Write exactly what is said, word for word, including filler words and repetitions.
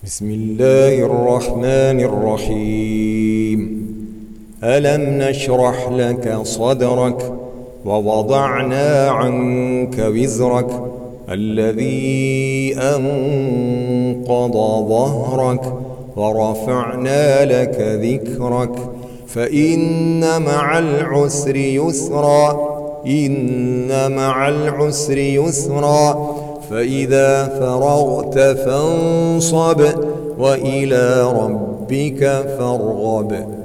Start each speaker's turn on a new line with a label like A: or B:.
A: بسم الله الرحمن الرحيم. ألم نشرح لك صدرك ووضعنا عنك وزرك الذي أنقض ظهرك ورفعنا لك ذكرك فإن مع العسر يسرا إن مع العسر يسرا فإذا فرغت فانصب وإلى ربك فارغب.